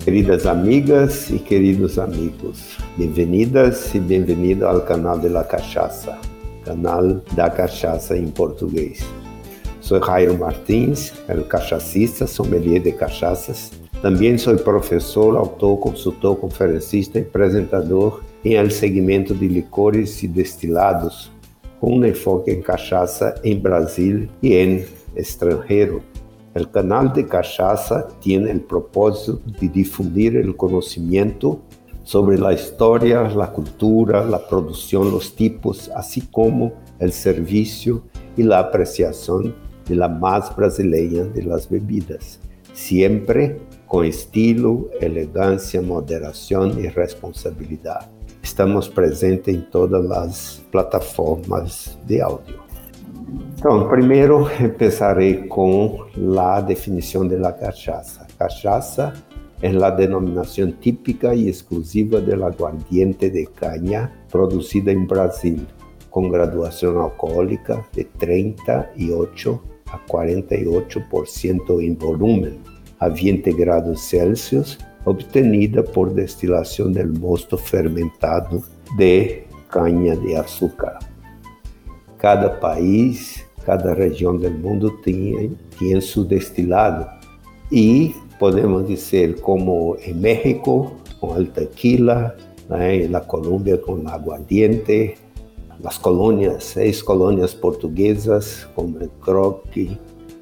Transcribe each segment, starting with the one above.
Queridas amigas y queridos amigos, bienvenidas y bienvenidos al canal de la cachaça, canal da cachaça en portugués. Soy Jairo Martins, el cachacista, sommelier de cachazas. También soy profesor, autor, consultor, conferencista y presentador en el segmento de licores y destilados, con un enfoque en cachaça en Brasil y en extranjero. El canal de cachaça tiene el propósito de difundir el conocimiento sobre la historia, la cultura, la producción, los tipos, así como el servicio y la apreciación de la más brasileña de las bebidas, siempre con estilo, elegancia, moderación y responsabilidad. Estamos presentes en todas las plataformas de audio. Então, primeiro empezaré com a definição de la cachaça. Cachaça é a denominação típica e exclusiva del aguardiente de caña producida em Brasil, com graduação alcoólica de 38 a 48% em volumen, a 20 graus Celsius, obtenida por destilação del mosto fermentado de caña de açúcar. Cada país, cada região do mundo tem seu destilado e podemos dizer como em México com o tequila, em la Colômbia com o aguardiente, as colônias, 6 colônias portuguesas como o croque,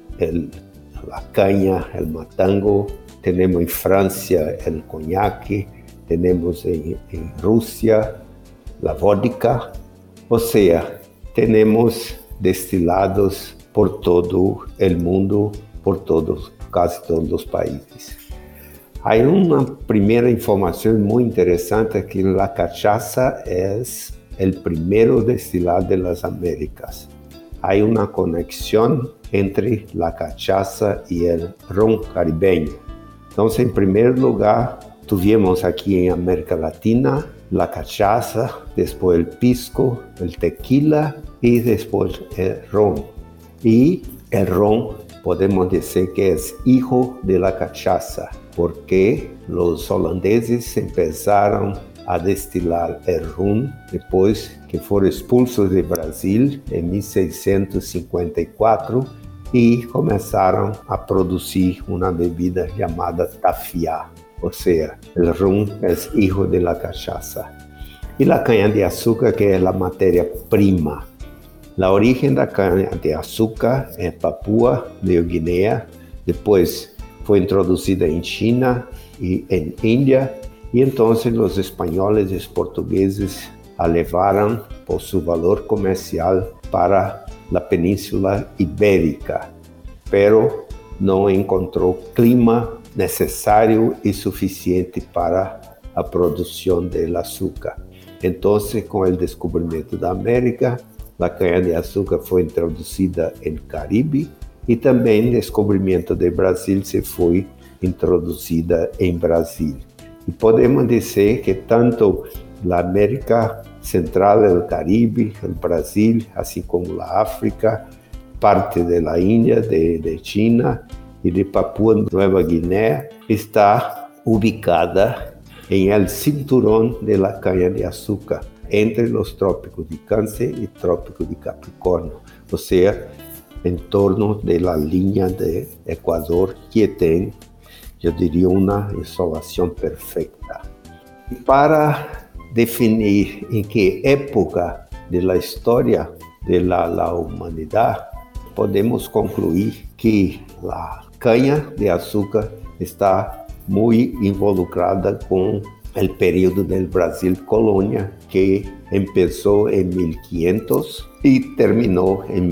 a caña, o matango, temos em França o conhaque, temos em Rússia a vodka, ou seja, temos destilados por todo o mundo, quase todos os países. Há uma primeira informação muito interessante que a cachaça é o primeiro destilado das Américas. Há uma conexão entre a cachaça e o ron caribeño. Então, em primeiro lugar, tivemos aqui em América Latina la cachaça, depois el pisco, el tequila y después el ron. Y el ron podemos decir que es hijo de la cachaça, porque los holandeses empezaron a destilar el ron depois que foram expulsos de Brasil en 1654 y comenzaron a producir una bebida llamada tafiá. Ou seja, o rum é hijo de la cachaça. E a caña-de-açúcar, que é a matéria-prima. A origem da caña-de-açúcar é Papua Nova Guiné, depois foi introduzida em China e em Índia, e então os espanhóis e os portugueses a levaram por seu valor comercial para a Península Ibérica, pero não encontrou clima necessário e suficiente para a produção de açúcar. Então, com o descobrimento da América, a caña-de-açúcar foi introduzida no Caribe e também o descobrimento do Brasil se foi introduzida em Brasil. E podemos dizer que tanto a América Central, o Caribe, o Brasil, assim como a África, parte da Índia, de China e de Papua Nova Guiné, está ubicada em el cinturón de la caña-de-açúcar, entre os trópicos de Câncer e trópico de Capricórnio, ou seja, em torno da linha de Equador, que tem, eu diria, uma insolação perfeita. E para definir em que época da história da humanidade, podemos concluir que a caña-de-açúcar está muito involucrada com o período do Brasil colônia, que começou em 1500 e terminou em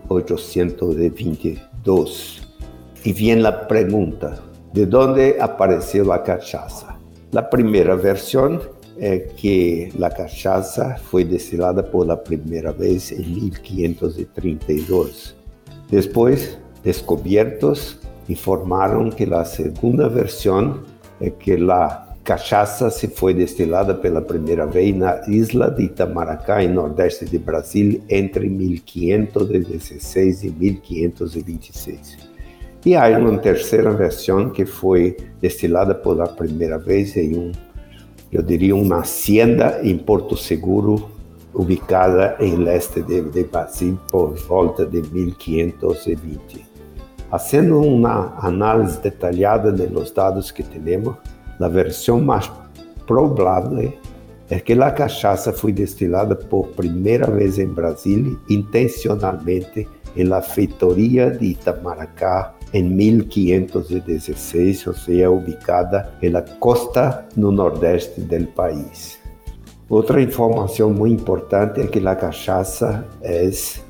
1822. E vem a pergunta, de onde apareceu a cachaça? A primeira versão é que a cachaça foi destilada pela primeira vez em 1532. Depois, descobertos informaram que a segunda versão é que a cachaça se foi destilada pela primeira vez na isla de Itamaracá, em nordeste de Brasil, entre 1516 e 1526. E há uma terceira versão que foi destilada pela primeira vez em eu diria, uma hacienda em Porto Seguro, ubicada em leste de Brasil por volta de 1520. Fazendo uma análise detalhada dos dados que temos, a versão mais provável é que a cachaça foi destilada por primeira vez em Brasília, intencionalmente, na feitoria de Itamaracá, em 1516, ou seja, ubicada na costa no nordeste do país. Outra informação muito importante é que a cachaça é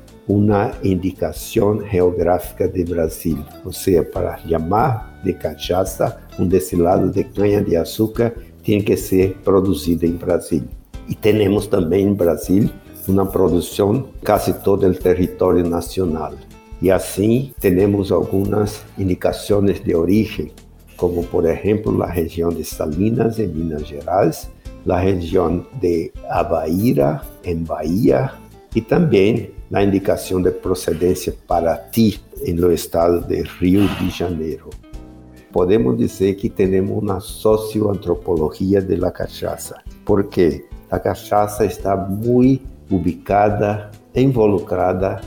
uma indicação geográfica de Brasil, ou seja, para chamar de cachaça, destilado de cana-de-açúcar tem que ser produzido em Brasília. E temos também em Brasília uma produção quase todo o território nacional. E assim temos algumas indicações de origem, como por exemplo a região de Salinas, em Minas Gerais, a região de Avaíra, em Bahia, e também a indicação de procedência Paraty, no estado de Rio de Janeiro. Podemos dizer que temos uma socioantropologia da cachaça, porque a cachaça está muito ubicada, involucrada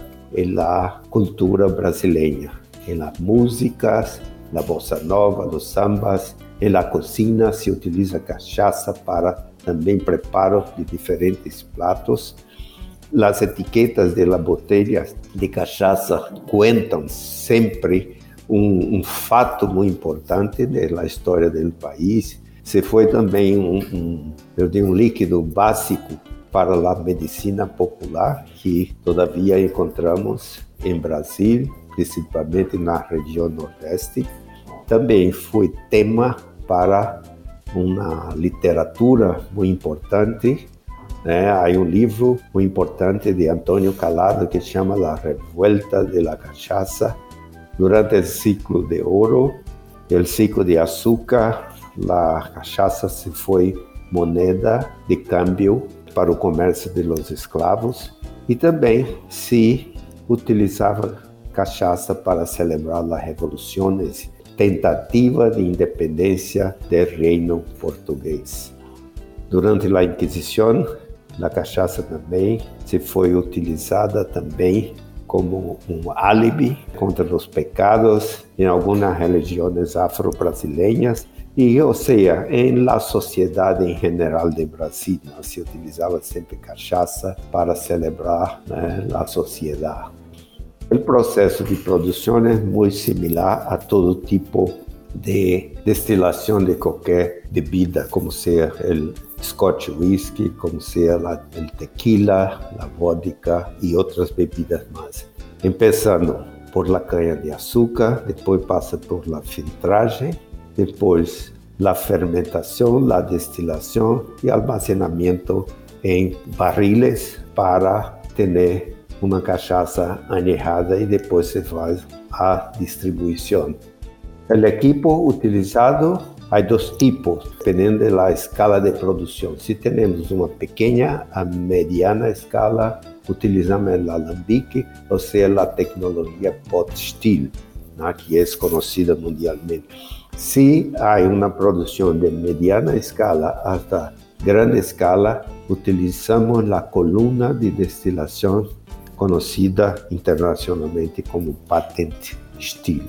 na cultura brasileira, nas músicas, na bossa nova, nos sambas, na cozinha se utiliza cachaça para também preparo de diferentes pratos. As etiquetas de las botellas de cachaça contam sempre um fato muito importante da história do país. Se foi também um líquido básico para a medicina popular, que todavia encontramos em Brasil, principalmente na região nordeste. Também foi tema para uma literatura muito importante. Há livro muito importante de Antônio Calado que se chama La Revuelta de la Cachaça. Durante o ciclo de ouro, o ciclo de açúcar, a cachaça se foi moneda de câmbio para o comércio de los escravos e também se utilizava cachaça para celebrar as revoluções, tentativa de independência do reino português. Durante a Inquisição, a cachaça também se foi utilizada também como um álibi contra os pecados em algumas religiões afro-brasileiras e, ou seja, em la sociedade em geral de Brasil, se utilizava sempre cachaça para celebrar a sociedade. O processo de produção é muito similar a todo tipo de destilação de qualquer bebida, como seja o Scotch whisky, como seja o tequila, a vodka e outras bebidas mais. Começando por la cana-de-açúcar, depois passa por la filtragem, depois la fermentação, la destilação e almacenamento em barriles para ter uma cachaça añejada e depois se faz a distribuição. O equipo utilizado, há dois tipos, dependendo da escala de produção. Se temos uma pequena a mediana escala, utilizamos o alambique, ou seja, a tecnologia pot still, que é conhecida mundialmente. Se há uma produção de mediana escala até grande escala, utilizamos a coluna de destilação conhecida internacionalmente como patent still.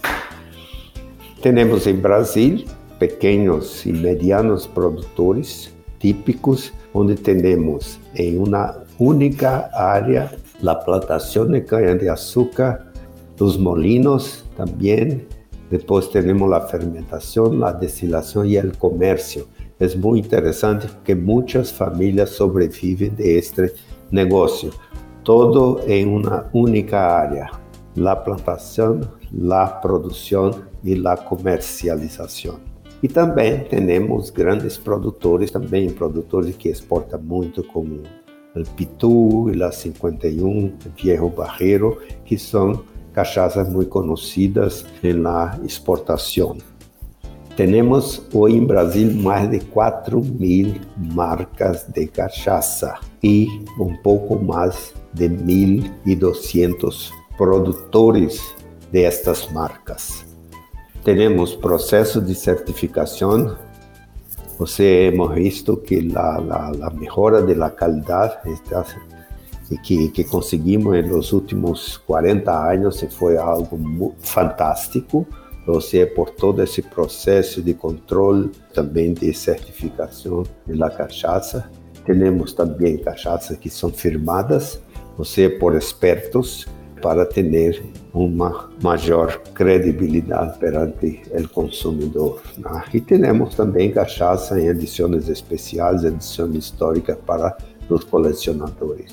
Temos em Brasil pequenos e medianos produtores típicos, onde temos em uma única área a plantação de cana-de-açúcar, os molinos também, depois temos a fermentação, a destilação e o comércio. É muito interessante porque muitas famílias sobrevivem deste negócio, todo em uma única área, a plantação, a produção e a comercialização. E também temos grandes produtores, também produtores que exportam muito, como o Pitu, a 51, o Viejo Barreiro, que são cachaças muito conhecidas na exportação. Temos hoje em Brasil mais de 4.000 marcas de cachaça e um pouco mais de 1.200 produtores destas marcas. Temos processo de certificação. Hemos visto que la mejora de la calidad que conseguimos en los últimos 40 años fue algo muy fantástico. Por todo esse processo de controle, também de certificação da cachaça. Temos também cachaças que são firmadas, por expertos, para ter uma maior credibilidade perante o consumidor. E temos também cachaça em edições especiais, edições históricas para os colecionadores.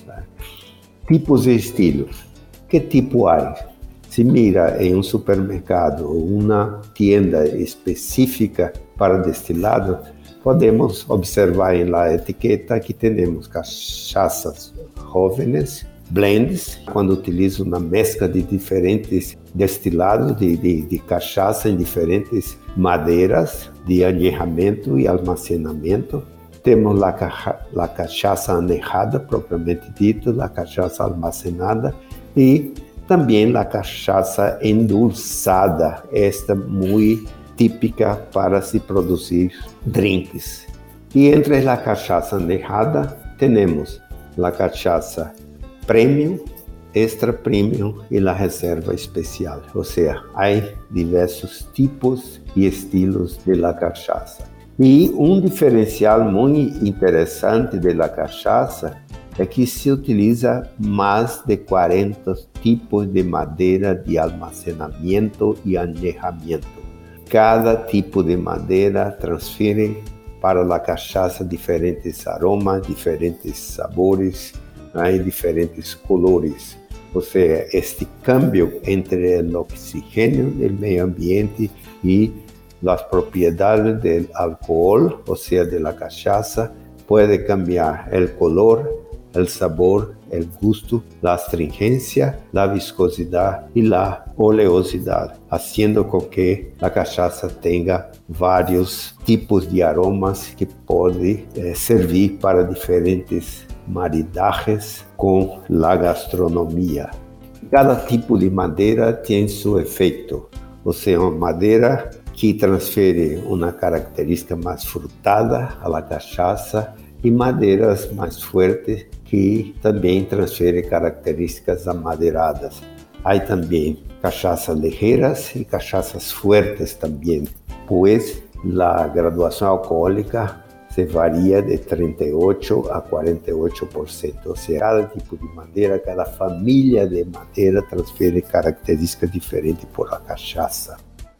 Tipos e estilos. Que tipo há? Se mira em um supermercado ou uma tienda específica para destilado, podemos observar na etiqueta que temos cachaças jovens, blends, quando utilizam uma mescla de diferentes destilados de cachaça em diferentes madeiras de añejamento e almacenamento. Temos a cachaça añejada, propriamente dito, a cachaça almacenada e também a cachaça endulçada, esta muito típica para se produzir drinks. E entre a cachaça añejada, temos a cachaça premium, extra premium e a reserva especial. Há diversos tipos e estilos de la cachaça. E um diferencial muito interessante da cachaça é que se utiliza mais de 40 tipos de madeira de almacenamento e añejamento. Cada tipo de madeira transfere para a cachaça diferentes aromas, diferentes sabores e diferentes colores. Este câmbio entre o oxigênio do meio ambiente e as propriedades do álcool, da cachaça, pode cambiar o color, el sabor, el gusto, la astringencia, la viscosidad y la oleosidad, haciendo con que la cachaza tenga varios tipos de aromas que pueden servir para diferentes maridajes con la gastronomía. Cada tipo de madeira tem seu efeito, uma madeira que transfere uma característica mais frutada à cachaça e madeiras mais fortes que também transferem características amadeiradas. Há também cachaças ligeiras e cachaças fortes também, pois a graduação alcoólica se varia de 38% a 48%. Cada tipo de madeira, cada família de madeira transfere características diferentes por a cachaça.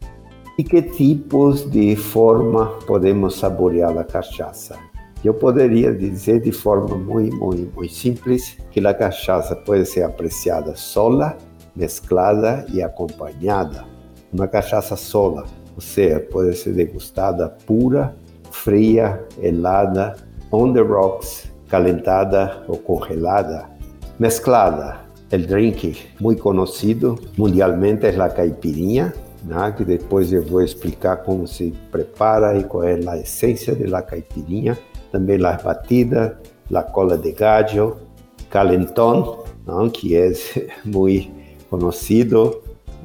E que tipos de forma podemos saborear a cachaça? Eu poderia dizer de forma muito simples que a cachaça pode ser apreciada sola, mesclada e acompanhada. Uma cachaça sola, pode ser degustada pura, fria, helada, on the rocks, calentada ou congelada. Mesclada, o drink muito conhecido mundialmente é a caipirinha, que depois eu vou explicar como se prepara e qual é a essência da caipirinha. Também as batidas, a cola de gallo, calentón, que é muito conhecido,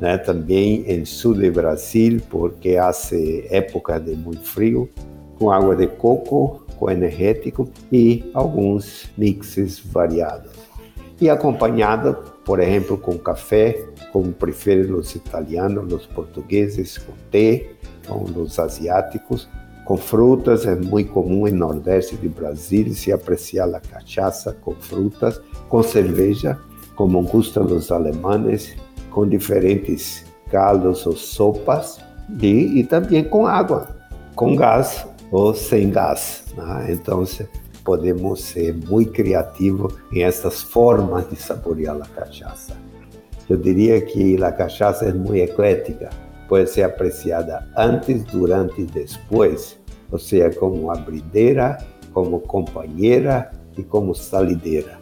também em sul do Brasil, porque há época de muito frio, com água de coco, com energético e alguns mixes variados. E acompanhada, por exemplo, com café, como preferem os italianos, os portugueses, com té, com os asiáticos. Com frutas, é muito comum no Nordeste do Brasil se apreciar a cachaça com frutas, com cerveja, como gustam os alemães, com diferentes caldos ou sopas, e também com água, com gás ou sem gás. Então, podemos ser muito criativos em essas formas de saborear a cachaça. Eu diria que a cachaça é muito eclética. Pode ser apreciada antes, durante e depois, como abrideira, como companheira e como salideira.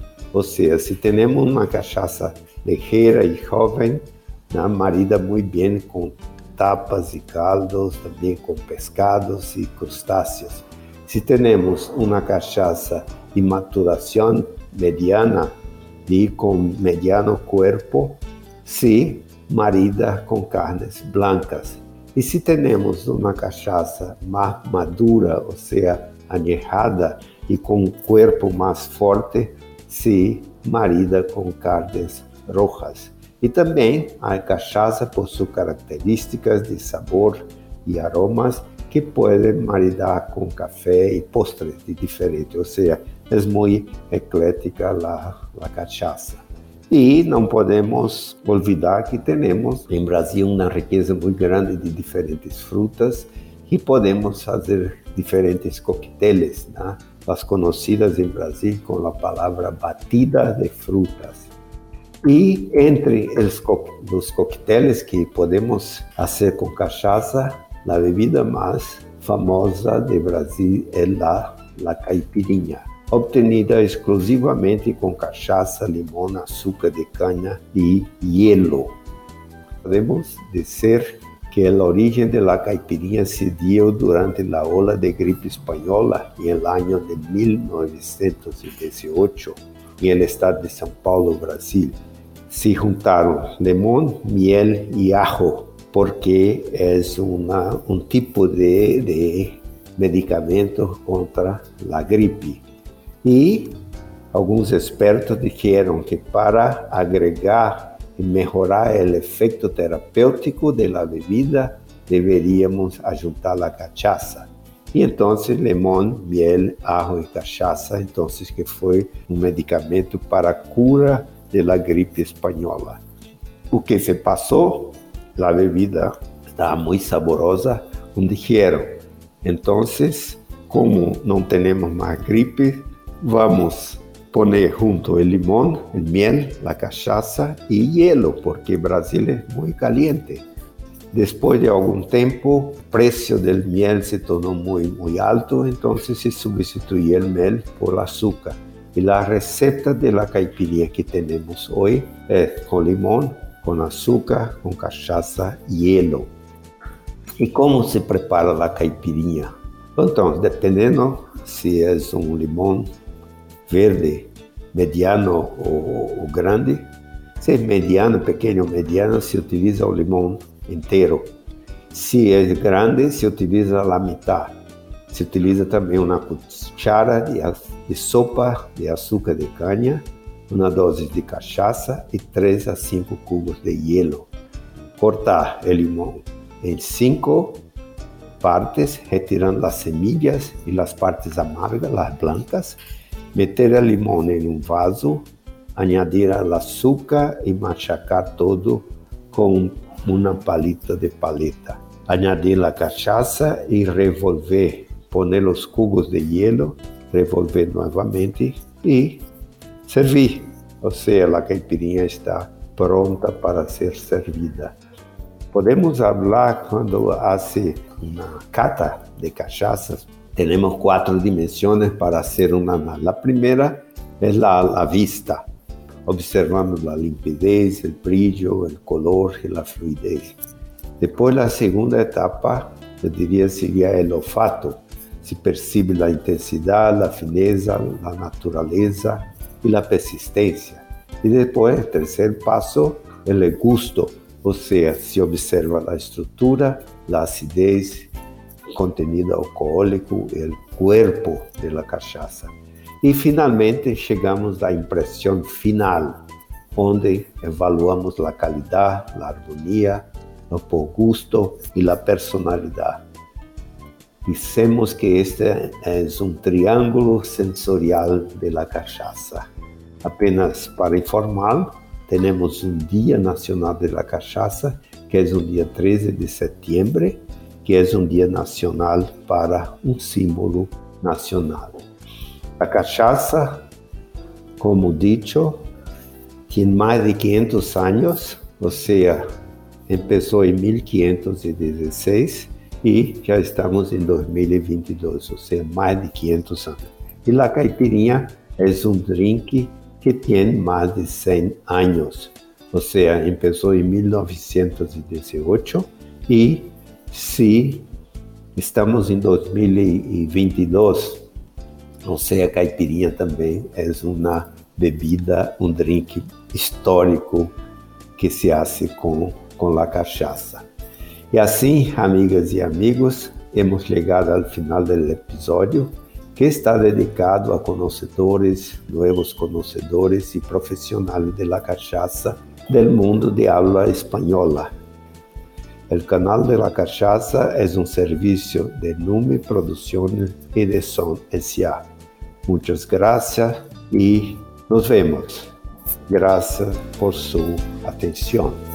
Se temos uma cachaça ligeira e jovem, marida muito bem com tapas e caldos, também com pescados e crustáceos. Se temos uma cachaça de maturação mediana e com mediano corpo, se marida com carnes blancas. E se temos uma cachaça mais madura, ou seja, añejada e com um corpo mais forte, se marida com carnes rojas. E também a cachaça possui características de sabor e aromas que podem maridar com café e postres diferentes, ou seja, é muito eclética a cachaça. E não podemos olvidar que temos em Brasil uma riqueza muito grande de diferentes frutas e podemos fazer diferentes coquetéis, né? As conhecidas em Brasil com a palavra batida de frutas. E entre os coquetéis que podemos fazer com cachaça, a bebida mais famosa de Brasil é a caipirinha, obtenida exclusivamente com cachaça, limão, açúcar de cana e hielo. Podemos dizer que a origem da caipirinha se deu durante a ola de gripe espanhola em el ano de 1918 em el estado de São Paulo, Brasil. Se juntaram limão, miel e ajo, porque é um tipo de medicamento contra a gripe. E alguns expertos disseram que para agregar e melhorar o efeito terapêutico da bebida, deveríamos juntar a cachaça. E então, limão, miel, ajo e cachaça, então, que foi um medicamento para a cura da gripe espanhola. O que se passou? A bebida estava muito saborosa, dijeron. Então, como não temos mais gripe, vamos poner junto o limão, o miel, a cachaça e hielo, porque Brasil é muito caliente. Depois de algum tempo, o preço do miel se tornou muito alto, então se substituiu o miel por açúcar. E a receita da caipirinha que temos hoje é com limão, com açúcar, com cachaça e hielo. E como se prepara a caipirinha? Então, dependendo se é um limão verde, mediano ou grande, se é mediano, pequeno ou mediano, se utiliza o limão inteiro. Se é grande, se utiliza a metade. Se utiliza também uma cuchara de sopa de açúcar de cana, uma dose de cachaça e 3 a 5 cubos de hielo. Cortar o limão em 5 partes, retirando as semillas e as partes amargas, as blancas. Meter o limão em um vaso, añadir o açúcar e machacar todo com uma palita de paleta. Añadir a cachaça e revolver. Poner os cubos de hielo, revolver novamente e servir. Ou seja, a caipirinha está pronta para ser servida. Podemos falar quando hace uma cata de cachaças. Temos 4 dimensões para fazer uma análise. A primeira é a vista. Observamos a limpidez, o brilho, o color e a fluidez. Depois, a segunda etapa, eu diria, seria o olfato. Se percebe a intensidade, a fineza, a natureza e a persistência. E depois, o terceiro passo, é o gusto, ou seja, se observa a estrutura, a acidez, o contenido alcoólico e o corpo da cachaça. E, finalmente, chegamos à impressão final, onde evaluamos a qualidade, a harmonia, o bom gosto e a personalidade. Dizemos que este é um triângulo sensorial da cachaça. Apenas para informar, temos um Dia Nacional da Cachaça, que é o dia 13 de setembro, que é um dia nacional para um símbolo nacional. A cachaça, como dicho, tem mais de 500 anos, ou seja, começou em 1516, e já estamos em 2022, ou seja, mais de 500 anos. E a caipirinha é um drink que tem mais de 100 anos, ou seja, começou em 1918 e se estamos em 2022, ou seja, a caipirinha também é uma bebida, um drink histórico que se faz com a cachaça. E assim, amigas e amigos, hemos chegado ao final do episódio, que está dedicado a conhecedores, novos conhecedores e profissionais da cachaça del mundo de habla espanhola. O canal de la Cachaça é um serviço de Numi Produções e de Som S.A. Muitas graças e nos vemos. Graças por sua atenção.